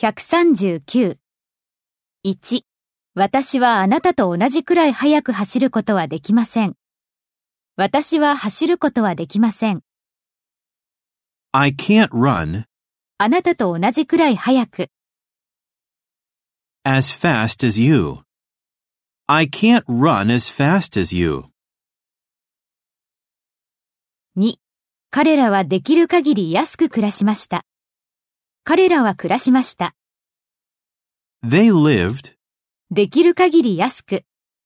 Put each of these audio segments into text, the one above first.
139。1、私はあなたと同じくらい速く走ることはできません。私は走ることはできません。 I can't run あなたと同じくらい速く。 as fast as you. I can't run as fast as you. 2、彼らはできる限り安く暮らしました。彼らは暮らしました。 They lived できる限り安く。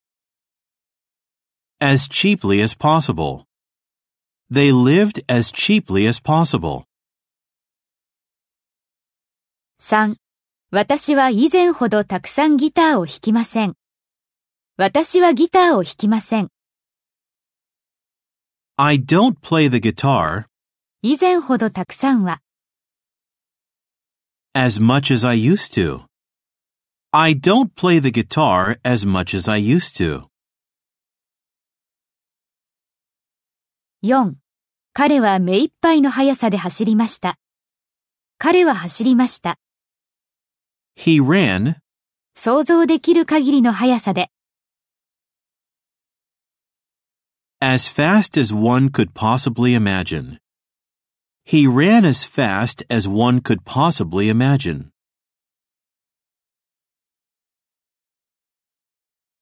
as cheaply as possible. They lived as cheaply as possible. 3、私は以前ほどたくさんギターを弾きません。私はギターを弾きません。 I don't play the guitar 以前ほどたくさんは。 as much as I used to. I don't play the guitar as much as I used to. 4、彼は目いっぱいの速さで走りました。彼は走りました。 He ran 想像できる限りの速さで。 as fast as one could possibly imagine. He ran as fast as one could possibly imagine.